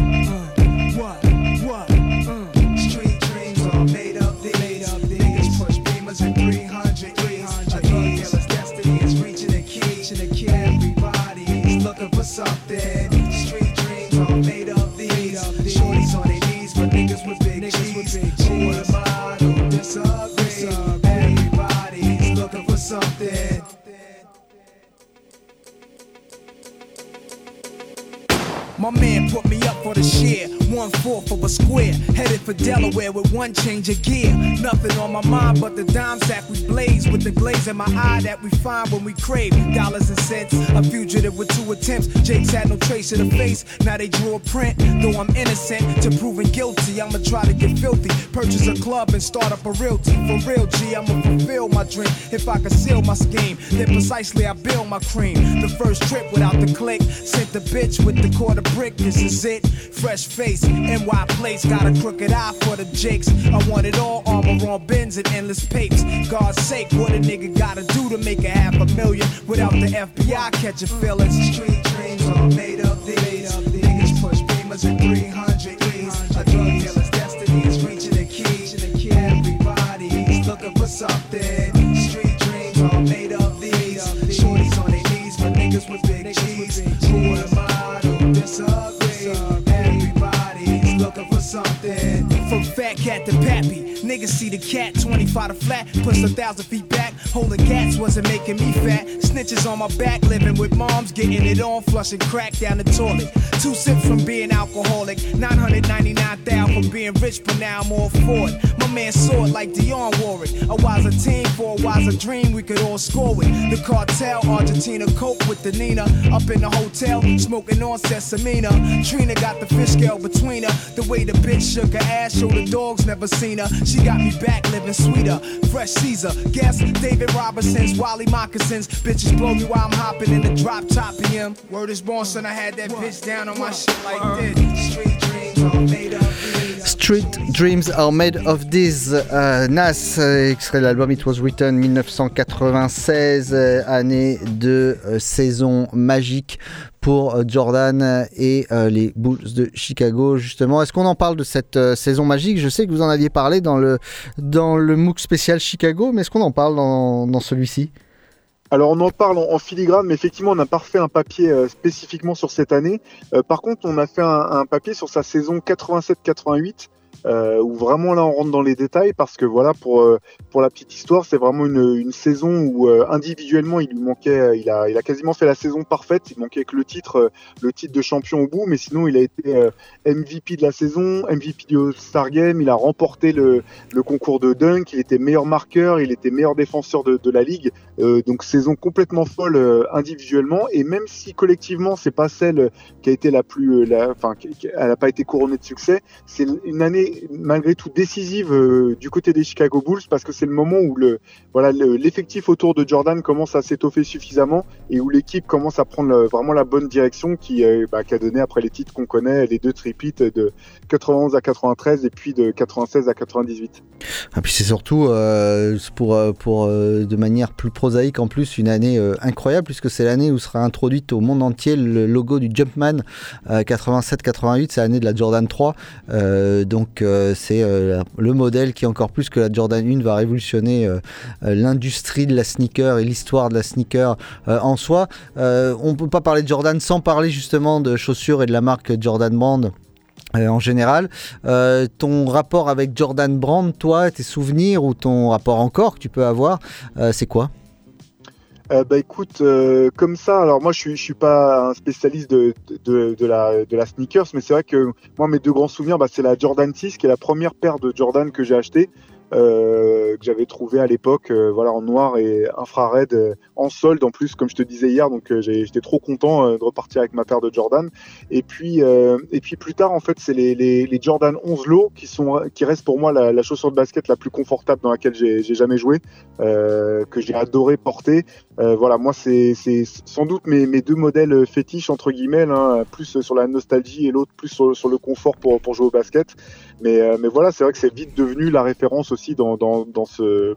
My man put me up for the share, 1/4 of a square, headed for Delaware with one change of gear. Nothing on my mind but the dime sack we blaze, with the glaze in my eye that we find when we crave dollars and cents. A fugitive with 2 attempts, Jake's had no trace of the face, now they drew a print. Though I'm innocent to proving guilty, I'ma try to get filthy, purchase a club and start up a realty. For real G, I'ma fulfill my dream. If I could seal my scheme, then precisely I build my cream. The first trip without the click, sent the bitch with the quarter brick, this is it. Fresh face, NY place, got a crooked eye for the jakes. I want it all, armor on bins and endless papes. God's sake, what a nigga gotta do to make a $500,000 without the FBI catching feelings. Street dreams are made of these. Niggas push beamers at 300 E's. A drug dealer's destiny is reaching a key. Everybody's looking for something. Street dreams are made of these. Shorties on their knees, but niggas with big G's. Who am I to disagree? Everybody's looking for something. From fat cat to pappy, niggas see the cat 25 to flat, puts 1,000 feet back. Holding cats wasn't making me fat. Snitches on my back, living with moms, getting it on, flushing crack down the toilet. 2 sips from being alcoholic, 999,000 from being rich, but now I'm all for it. My man saw it like Dionne Warwick. A wiser team for a wiser dream we could all score with. The cartel, Argentina, coke with the Nina. Up in the hotel, smoking on Sesamina. Trina got the fish scale between her. The way the bitch shook her ass, showed the dogs never seen her. She got me back living sweeter. Fresh Caesar, guess David Robinson's, Wally Moccasins. Bitches blow me while I'm hopping in the drop top of him. Word is born, son, I had that bitch down on my shit like this. Street dreams are made of these. Street Dreams are made of this. Nas, extrait de l'album It Was Written 1996, année de saison magique pour Jordan et les Bulls de Chicago, justement. Est-ce qu'on en parle de cette saison magique? Je sais que vous en aviez parlé dans le MOOC spécial Chicago, mais est-ce qu'on en parle dans celui-ci? Alors on en parle en filigrane, mais effectivement on n'a pas refait un papier spécifiquement sur cette année. Par contre on a fait un papier sur sa saison 87-88, où vraiment là on rentre dans les détails, parce que voilà, pour la petite histoire, c'est vraiment une saison où individuellement il lui manquait, il a quasiment fait la saison parfaite, il manquait que le titre de champion au bout, mais sinon il a été MVP de la saison, MVP du All-Star Game, il a remporté le concours de dunk, il était meilleur marqueur, il était meilleur défenseur de la ligue, donc saison complètement folle individuellement, et même si collectivement c'est pas celle qui a été elle n'a pas été couronnée de succès, c'est une année malgré tout décisive du côté des Chicago Bulls, parce que c'est le moment où l'effectif autour de Jordan commence à s'étoffer suffisamment et où l'équipe commence à prendre vraiment la bonne direction qui a donné après les titres qu'on connaît, les 2 tripeats de 91 à 93 et puis de 96 à 98. Et puis c'est surtout pour de manière plus prosaïque en plus une année incroyable, puisque c'est l'année où sera introduite au monde entier le logo du Jumpman 87-88, c'est l'année de la Jordan 3, donc c'est le modèle qui, encore plus que la Jordan 1, va révolutionner l'industrie de la sneaker et l'histoire de la sneaker en soi. On ne peut pas parler de Jordan sans parler justement de chaussures et de la marque Jordan Brand. En général, ton rapport avec Jordan Brand, toi, tes souvenirs ou ton rapport encore que tu peux avoir, c'est quoi? Écoute, comme ça, alors moi je suis pas un spécialiste de la sneakers, mais c'est vrai que moi mes 2 grands souvenirs, c'est la Jordan 6, qui est la première paire de Jordan que j'ai achetée. que j'avais trouvé à l'époque, voilà, en noir et infrared, en solde en plus, comme je te disais hier. Donc j'étais trop content de repartir avec ma paire de Jordan. Et puis plus tard, en fait, c'est les Jordan 11 Low qui restent pour moi la chaussure de basket la plus confortable dans laquelle j'ai jamais joué, que j'ai adoré porter. Voilà, moi c'est sans doute mes deux modèles fétiches entre guillemets, hein, plus sur la nostalgie et l'autre plus sur le confort pour jouer au basket. Mais voilà, c'est vrai que c'est vite devenu la référence aussi dans ce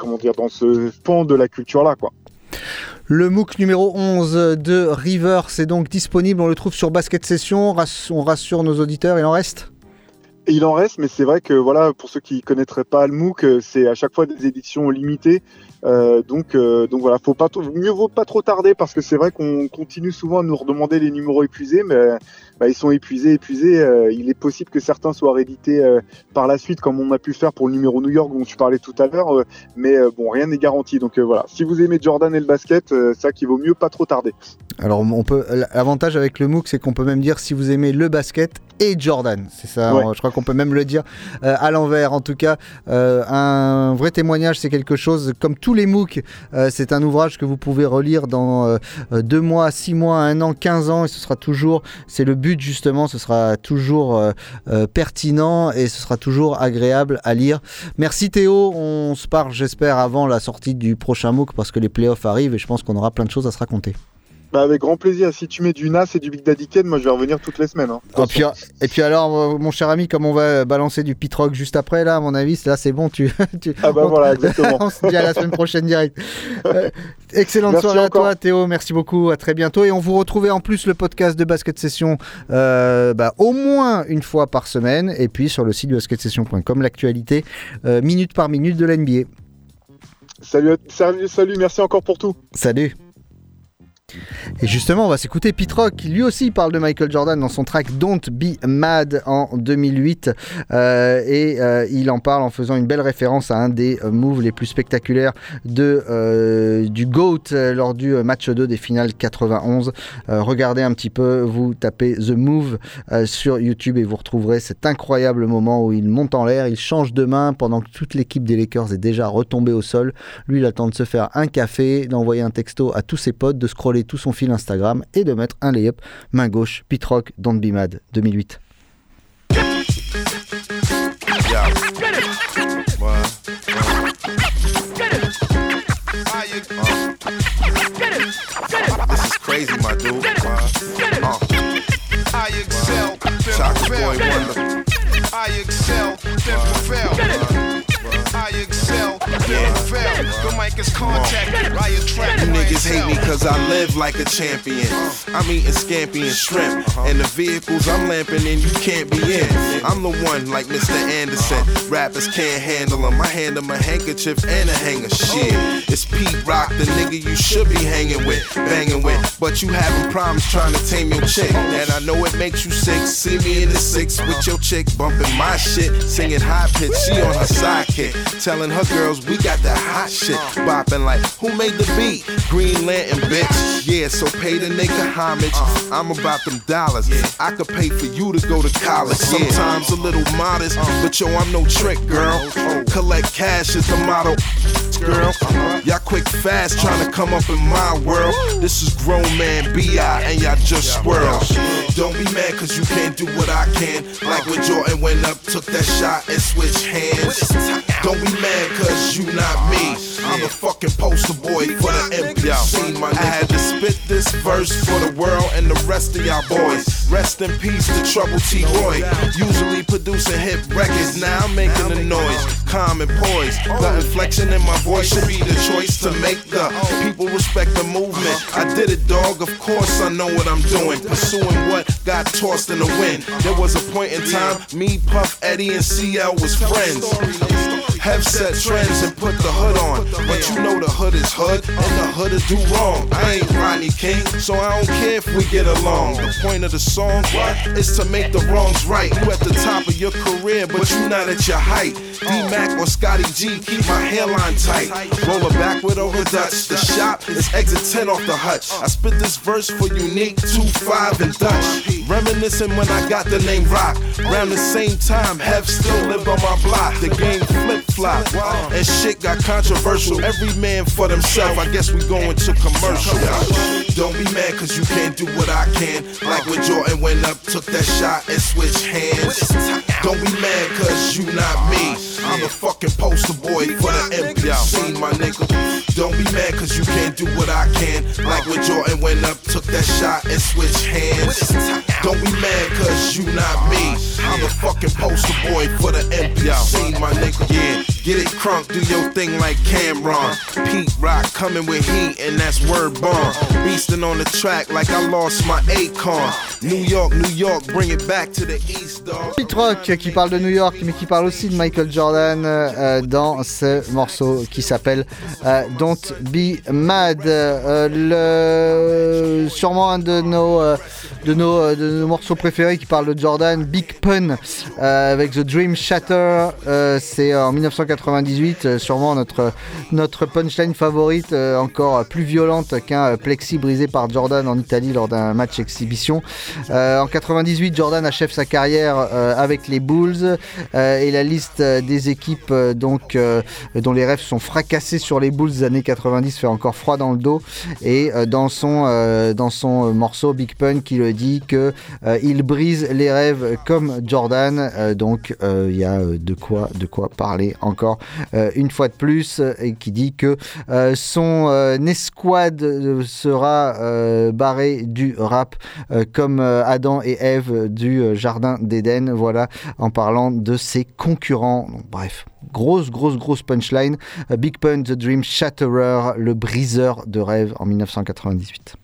pan de la culture là, quoi. Le MOOC numéro 11 de River, c'est donc disponible, on le trouve sur Basket Session, on rassure nos auditeurs, il en reste ? Et il en reste, mais c'est vrai que voilà, pour ceux qui connaîtraient pas le MOOC, c'est à chaque fois des éditions limitées. Donc voilà, mieux vaut pas trop tarder, parce que c'est vrai qu'on continue souvent à nous redemander les numéros épuisés, mais ils sont épuisés. Il est possible que certains soient réédités par la suite, comme on a pu faire pour le numéro New York dont tu parlais tout à l'heure, mais bon, rien n'est garanti. Donc voilà, si vous aimez Jordan et le basket, c'est ça qu'il vaut mieux pas trop tarder. Alors l'avantage avec le MOOC, c'est qu'on peut même dire si vous aimez le basket et Jordan, c'est ça, ouais. Je crois qu'on peut même le dire à l'envers. En tout cas, un vrai témoignage, c'est quelque chose, comme tous les MOOC, c'est un ouvrage que vous pouvez relire dans 2 mois, 6 mois, 1 an, 15 ans, et ce sera toujours, c'est le but justement, ce sera toujours pertinent et ce sera toujours agréable à lire. Merci Théo, on se parle j'espère avant la sortie du prochain MOOC, parce que les playoffs arrivent et je pense qu'on aura plein de choses à se raconter. Avec grand plaisir. Si tu mets du Nas et du Big Daddy Kane, moi je vais revenir toutes les semaines. Hein. Et puis alors, mon cher ami, comme on va balancer du Pit Rock juste après, là, à mon avis, là c'est bon. Voilà, exactement. On se dit à la semaine prochaine direct. Excellente soirée à toi, Théo. Merci beaucoup. À très bientôt. Et on vous retrouve en plus le podcast de Basket Session au moins une fois par semaine. Et puis sur le site de basketsession.com, l'actualité minute par minute de l'NBA. Salut. Merci encore pour tout. Salut. Et justement, on va s'écouter Pete Rock, qui lui aussi parle de Michael Jordan dans son track Don't Be Mad en 2008. Il en parle en faisant une belle référence à un des moves les plus spectaculaires du GOAT lors du match 2 des finales 91. Regardez un petit peu, vous tapez The Move sur YouTube et vous retrouverez cet incroyable moment où il monte en l'air, il change de main pendant que toute l'équipe des Lakers est déjà retombée au sol. Lui, il attend de se faire un café, d'envoyer un texto à tous ses potes, de scroller tout son fil Instagram et de mettre un lay-up main gauche. Pete Rock, Don't Be Mad, 2008. This is crazy, my dude. I excel, Chocolate Boy Wonder. I excel, I excel, the mic is contacted, I attract. You niggas hate me cause I live like a champion. I'm eating scampi and shrimp, and the vehicles I'm lamping in you can't be in. I'm the one like Mr. Anderson, rappers can't handle him. I hand him a handkerchief and a hanger. Shit, it's Pete Rock, the nigga you should be hanging with, banging with. But you having problems trying to tame your chick, and I know it makes you sick. See me in the 6 with your chick bumping my shit, singing high pitch. She on her sidekick, telling her girls we got that hot shit, bopping like who made the beat? Green Lantern, bitch. Yeah, so pay the nigga homage. I'm about them dollars. I could pay for you to go to college. Sometimes a little modest, but yo, I'm no trick, girl. Collect cash is the motto, girl. Y'all quick fast trying to come up in my world. This is grown man B.I. and y'all just swirl. Don't be mad cause you can't do what I can. Like when Jordan went up, took that shot and switched hands. Don't be mad cause you not me. I'm a fucking poster boy for the MPC, my nigga. I had to spit this verse for the world and the rest of y'all boys. Rest in peace to Trouble T. Roy. Usually producing hit records, now I'm making the noise. Calm and poised, the inflection in my voice should be the choice to make the people respect the movement. I did it, dog, of course I know what I'm doing. Pursuing what got tossed in the wind. There was a point in time, me, Puff, Eddie, and CL was friends. Have set trends and put the hood on, but you know the hood is hood, and the hood is do wrong. I ain't Rodney King, so I don't care if we get along. The point of the song is to make the wrongs right. You at the top of your career, but you not at your height. D-Mac or Scotty G, keep my hairline tight. Roll it backward over Dutch. The shop is exit 10 off the hutch. I spit this verse for Unique, 2-5 and Dutch. Reminiscing when I got the name Rock. Around the same time, Hef still lived on my block. The game flip-flop, and shit got controversial. Every man for themselves, I guess we going to commercial. Don't be mad cause you can't do what I can. Like when Jordan went up, took that shot and switched hands. Don't be mad cause you not me. I'm a fucking poster boy for the MPC, my nigga. Don't be mad cause you can't do what I can. Like when Jordan went up, took that shot and switched hands. Don't be mad cause you not me. I'm a fucking poster boy for the MPC, my nigga. Yeah, get it crunk, do your thing like Cameron. Pete Rock coming with heat and that's word bomb. Beastin' on the track like I lost my Akon. New York, bring it back to the East, dog. Pete Rock qui parle de New York mais qui parle aussi de Michael Jordan dans ce morceau qui s'appelle Don't Be Mad. Sûrement un de nos morceaux préférés qui parle de Jordan, Big Pun avec The Dream Shatter. C'est en 1998, sûrement notre punchline favorite, encore plus violente qu'un plexi brisé par Jordan en Italie lors d'un match exhibition. En 98, Jordan achève sa carrière avec les Bulls et la liste des équipes dont les rêves sont fracassés sur les Bulls des années 90 fait encore froid dans le dos. Et dans son morceau Big Pun qui le dit que il brise les rêves comme Jordan. Donc il y a de quoi parler encore une fois de plus, et qui dit que son escouade sera barré du rap comme Adam et Ève du Jardin d'Éden. Voilà, en parlant de ses concurrents. Donc, bref, grosse punchline. Big Pun, The Dream Shatterer, le briseur de rêves en 1998.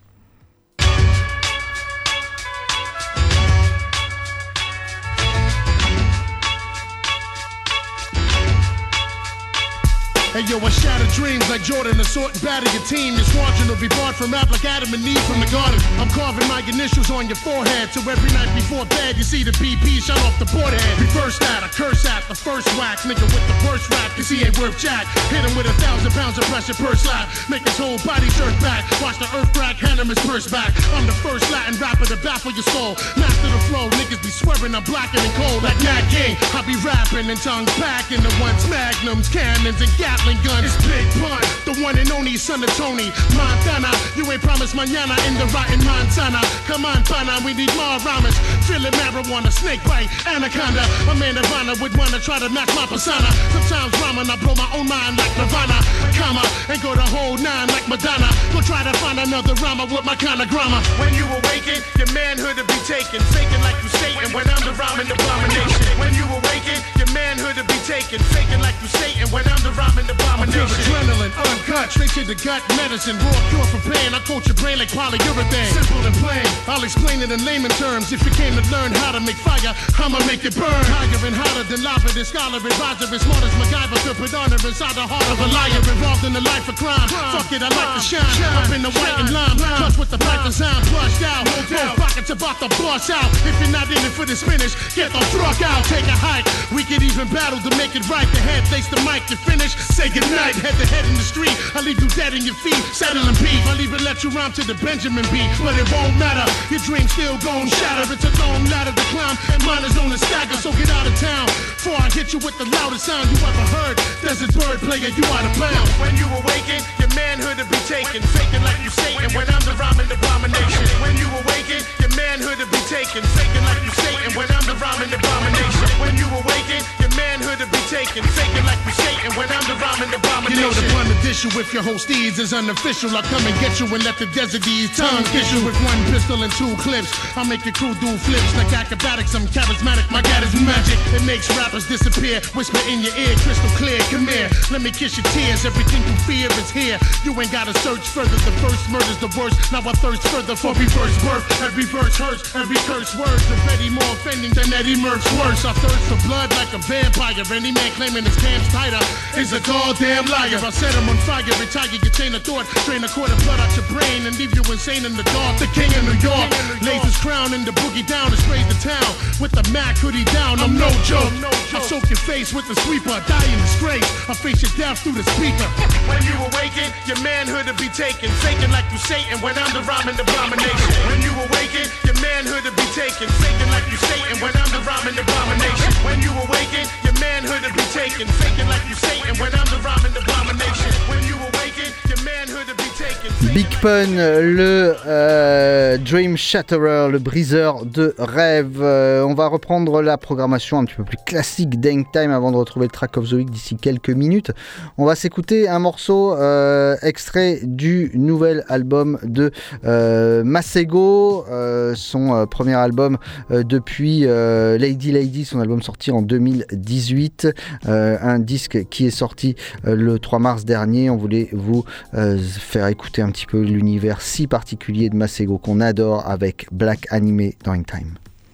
Hey yo, I shatter dreams like Jordan, assault and batter your team. This margin will be barred from rap like Adam and Eve from the garden. I'm carving my initials on your forehead, so every night before bed you see the BP shot off the board head. Reverse that, I curse at the first wax, nigga with the worst rap, cause he ain't worth jack. Hit him with 1,000 pounds of pressure per slap, make his whole body jerk back. Watch the earth crack, hand him his purse back. I'm the first Latin rapper to baffle your soul. Master the flow, niggas be swearing I'm blacker than cold like Nat King. I be rapping and tongues packing the ones magnums, cannons and Gatling gun. It's Big Pun, the one and only son of Tony Montana. You ain't promised mañana in the rotten Montana. Come on, pana, we need more rhymes. Feeling marijuana, snake bite, anaconda. A man of honor would wanna try to match my persona. Sometimes rhyming, I blow my own mind like Nirvana. Comma, and go the whole nine like Madonna. Go try to find another rhymer with my kind of grammar. When you awaken, your manhood to be taken. Faking like you Satan when I'm the rhyming abomination. When you awaken, your manhood to be taken. Faking like you Satan when I'm the rhyming abomination. Adrenaline, uncut, straight to the gut, medicine, raw cure for pain. I coat your brain like polyurethane. Simple and plain, I'll explain it in layman terms. If you came to learn how to make fire, I'ma make it burn. Higher and hotter than lava, the scholar advisor, as smart as MacGyver, to put honor inside the heart of a liar. Involved in the life of crime, fuck it, I like to shine. Up in the white and lime, plus with the pipe design, flushed out. No pockets about to bust out. If you're not in it for the spinach, get the truck out, take a hike. We could even battle to make it right. The head takes the mic to finish, say goodnight. Head to head in the street, I leave you dead in your feet, saddling beef. I'll even let you rhyme to the Benjamin beat, but it won't matter. Your dream's still gon' shatter. It's a long ladder to climb, and mine is on the stagger. So get out of town before I hit you with the loudest sound you ever heard. Desert bird player, you out of bounds. When you awaken, your manhood to be taken. Faking like you Satan when I'm the rhyming abomination. When you awaken, your manhood to be taken. Faking like you Satan when I'm the rhyming abomination. When you awaken, your manhood to be taken. Faking like you Satan when I'm the rhyming abomination. You know the pun to dish you with your whole steeds is unofficial. I'll come and get you and let the desert D's tongue kiss you with one pistol and two clips. I'll make your crew do flips like acrobatics. I'm charismatic, my God is magic. It makes rappers disappear. Whisper in your ear, crystal clear. Come here, let me kiss your tears. Everything you fear is here. You ain't gotta search further. The first murder's the worst. Now I thirst further for reverse birth. Every verse hurts, every curse words are very more offending than Eddie Murph's worse. I thirst for blood like a vampire. Any man claiming his camp's tighter is a goddamn liar. I set him on fire, retire your chain of thought, drain a quart of blood out your brain and leave you insane in the dark. The king of New York lays his crown in the boogie down and sprays the town with the Mac hoodie down. I'm no joke. I soak your face with the sweeper, die in disgrace. I face your death through the speaker. When you awaken, your manhood will be taken, faking like you Satan when I'm the rhyming abomination. When you awaken, your manhood will be taken, faking like you Satan when I'm the rhyming abomination. When you awaken, your manhood will be taken, faking like you Satan when I'm the rhyming abomination. When you awaken, your manhood will be taken. Big Pun, le Dream Shatterer, le briseur de rêve. On va reprendre la programmation un petit peu plus classique d'Hang Time avant de retrouver le track of the week d'ici quelques minutes. On va s'écouter un morceau extrait du nouvel album de Masego, son premier album depuis Lady Lady, son album sorti en 2018, un disque qui est sorti le 3 mars dernier. On voulait vous faire écouter un petit peu l'univers si particulier de Masego qu'on adore avec Black Anime dans Hang Time.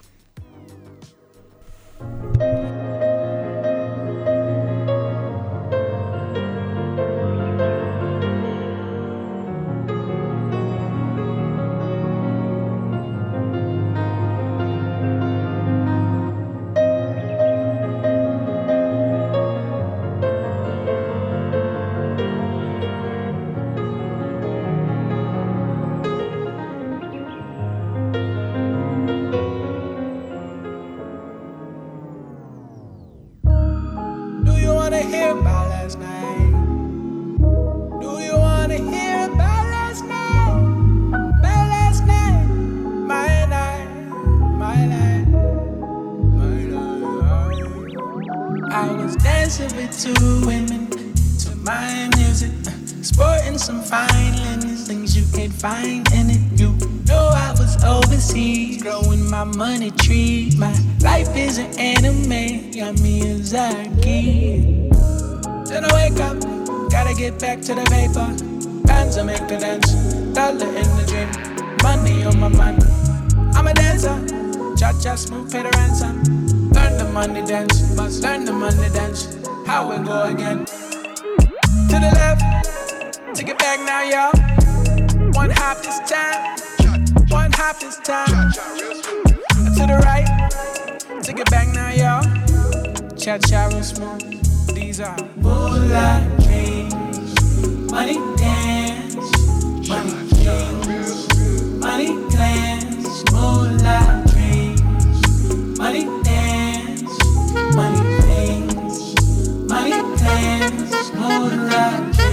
Money tree, my life is an anime, got Miyazaki. Then I wake up, gotta get back to the paper. Bands that make the dance, dollar in the dream, money on my mind. I'm a dancer, cha-cha smooth, pay the ransom. Learn the money dance, must learn the money dance. How we go again? To the left, take it back now, y'all. One hop this time, one hop this time. To the right, take it back now, y'all. Cha-cha real smooth. These are moonlight dreams, money dance, money dreams, money plans, moonlight dreams, money dance, money things, money plans, moonlight dreams.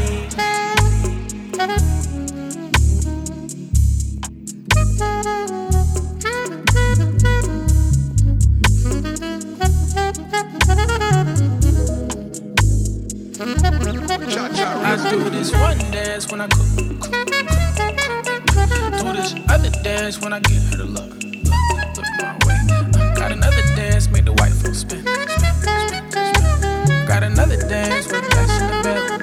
I do this one dance when I cook. Do this other dance when I get her to look my way. Got another dance, make the white folks spin. Got another dance with that's in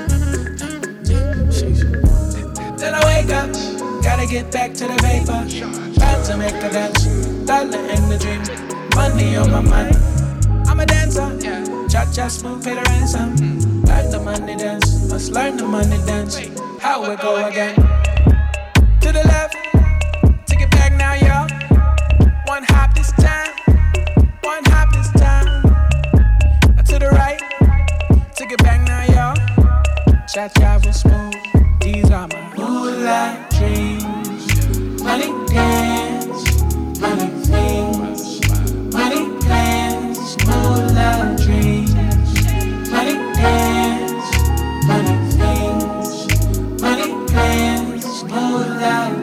the bed. Then I wake up, gotta get back to the paper. About to make a dance, dollar in the dream, money on my mind. I'm a dancer, cha-cha smooth, pay the ransom. Learn the money dance, must learn the money dance. How we go again? To the left, take it back now, y'all. One hop this time, one hop this time. To the right, take it back now, y'all. Cha-cha real smooth, these are my moonlight dreams. Money dance, money things, money plans, moonlight dreams. Money dance, money things, money plans, moonlight.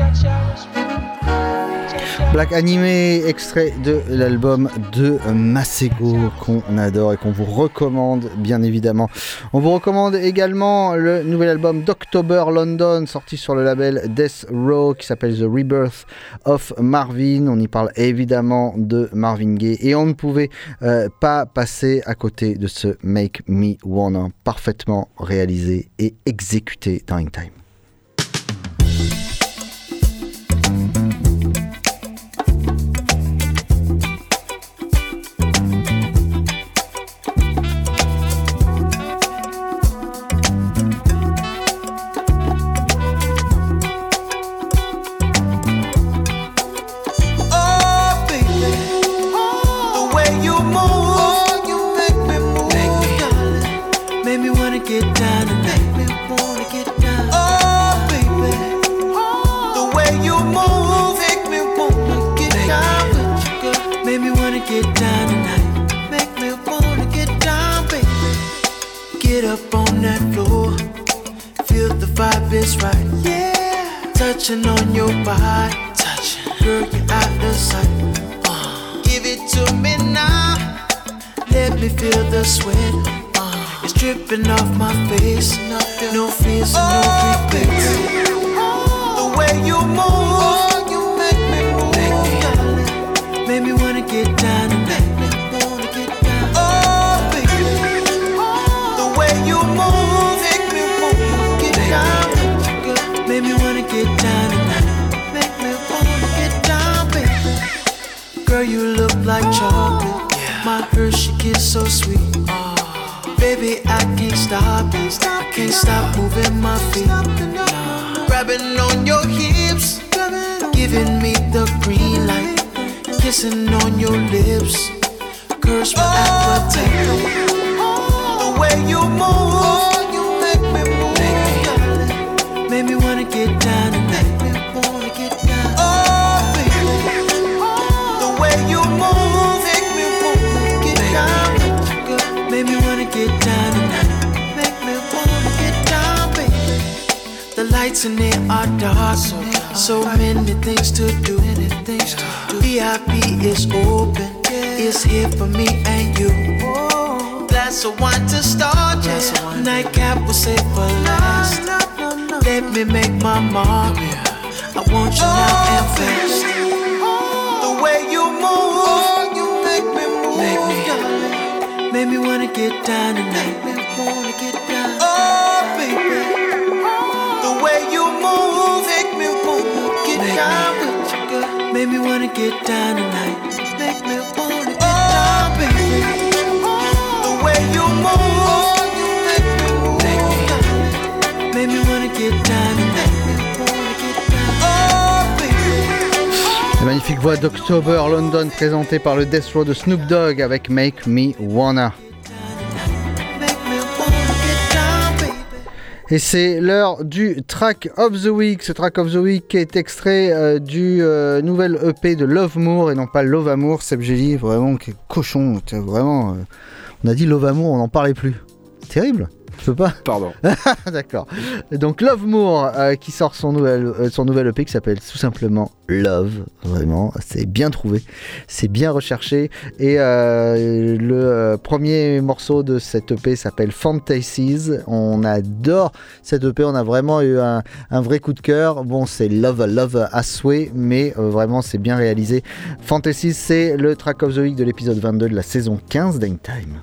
Black Animé, extrait de l'album de Masego qu'on adore et qu'on vous recommande bien évidemment. On vous recommande également le nouvel album d'October London sorti sur le label Death Row qui s'appelle The Rebirth of Marvin. On y parle évidemment de Marvin Gaye et on ne pouvait pas passer à côté de ce Make Me Wanna parfaitement réalisé et exécuté dans In Time. Touching on your body, touching, girl, you're out of sight. Give it to me now, let me feel the sweat. It's dripping off my face, no fears and no regrets. The way you move, you make me move, make me wanna get down tonight. Oh, baby, the way you move, make me wanna get down. Make me wanna get down tonight. Make me wanna get down, baby. Girl, you look like chocolate. My Hershey kiss so sweet. Baby, I can't stop it. I can't stop moving my feet. Grabbing on your hips, giving me the green light. Kissing on your lips, curse my appetite. The way you move, you make me move. Make me wanna get down tonight. Oh, baby, the way you move, make me wanna get down. Make me wanna get down tonight. Make me wanna get down, baby. The lights in there are dark, so many things to do. VIP is open, it's here for me and you. Glass of wine to start, nightcap will save for last. Let me make my mark. I want you now and fast. The way you move, you make me move. Make me wanna get down tonight. Oh, baby, the way you move, make me wanna get down with you, girl. Make me wanna get down tonight. Make me wanna get down, baby. The way you move, you make me move. Make me wanna get down tonight. La magnifique voix d'October London présentée par le Death Row de Snoop Dogg avec Make Me Wanna. Et c'est l'heure du Track of the Week. Ce Track of the Week est extrait du nouvel EP de Love Moore et non pas Love Amour. Seb Gély, vraiment, quel cochon. Vraiment, on a dit Love Amour, on n'en parlait plus. C'est terrible. Je peux pas. Pardon. D'accord. Donc Love Moore qui sort son nouvel EP qui s'appelle tout simplement Love. Vraiment, c'est bien trouvé, c'est bien recherché. Et le premier morceau de cet EP s'appelle Fantasies. On adore cet EP, on a vraiment eu un vrai coup de cœur. Bon, c'est Love à souhait, mais vraiment c'est bien réalisé. Fantasies, c'est le Track of the Week de l'épisode 22 de la saison 15 d'In Time.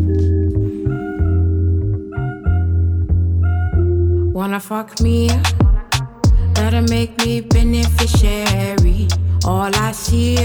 Wanna fuck me, better make me beneficiary. All I see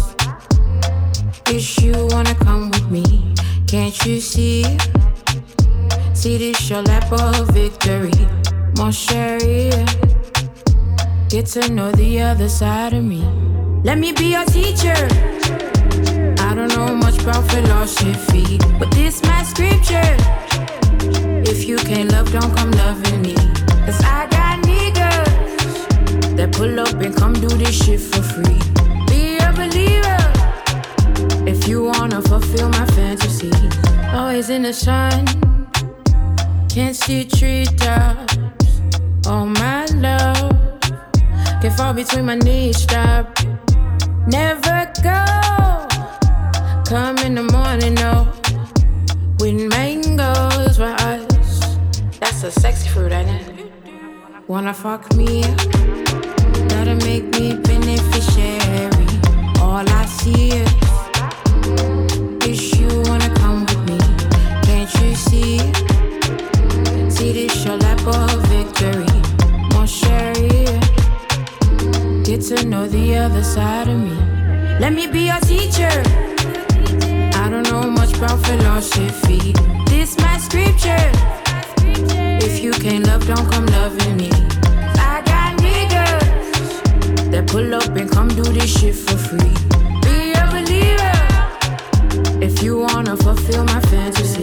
is you wanna come with me. Can't you see? See this your lap of victory, mon chéri. Get to know the other side of me. Let me be your teacher. I don't know much about philosophy, but this my scripture. If you can't love, don't come loving me. Cause I got niggas that pull up and come do this shit for free. Be a believer if you wanna fulfill my fantasy. Always in the sun, can't see treetops. Oh my love, can fall between my knees, stop. Never go. Come in the morning, no. With mangoes for us. That's a sexy fruit, ain't it? Wanna fuck me? Gotta make me beneficiary. All I see is you wanna come with me. Can't you see? See this your lap of victory. Mon chéri, get to know the other side of me. Let me be your teacher. I don't know much about philosophy. This my scripture. If you can't love, don't come loving me. I got niggas that pull up and come do this shit for free. Be a believer if you wanna fulfill my fantasy.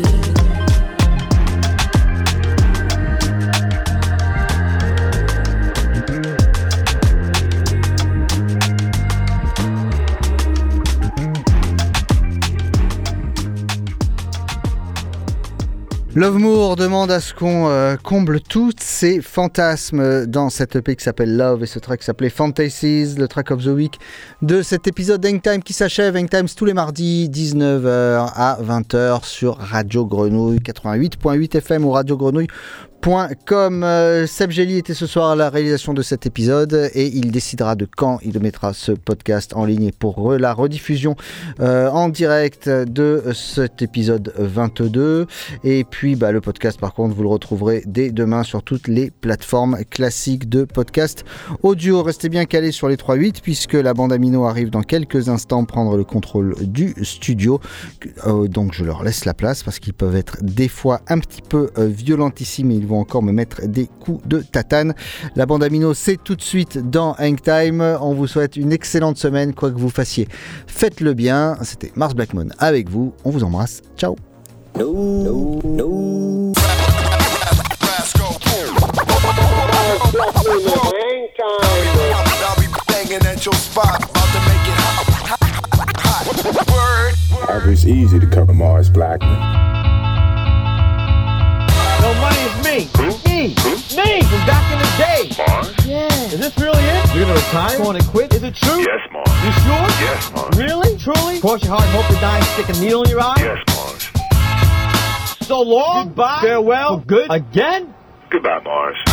Love Moore demande à ce qu'on comble tous ses fantasmes dans cette EP qui s'appelle Love et ce track qui s'appelait Fantasies, le track of the week de cet épisode Hangtime qui s'achève. Hangtime tous les mardis 19h à 20h sur Radio Grenouille 88.8 FM ou radiogrenouille.com. Seb Gély était ce soir à la réalisation de cet épisode et il décidera de quand il mettra ce podcast en ligne pour la rediffusion en direct de cet épisode 22. Et puis le podcast par contre vous le retrouverez dès demain sur toutes les plateformes classiques de podcast audio. Restez bien calés sur les 3-8 puisque la bande Amino arrive dans quelques instants prendre le contrôle du studio. Donc je leur laisse la place parce qu'ils peuvent être des fois un petit peu violentissimes et ils vont encore me mettre des coups de tatane. La bande Amino, c'est tout de suite dans Hangtime. On vous souhaite une excellente semaine, quoi que vous fassiez. Faites-le bien. C'était Mars Blackmon avec vous. On vous embrasse. Ciao. It's easy to cover Mars Blackmon. No, money is me. Me from back in the day. Mars? Yeah. Is this really it? You're gonna retire? Going to quit? Is it true? Yes, Mars. You sure? Yes, Mars. Really? Truly? Cross your heart and hope to die and stick a needle in your eye? Yes, Mars. So long. Goodbye. Farewell. For good. Again? Goodbye, Mars.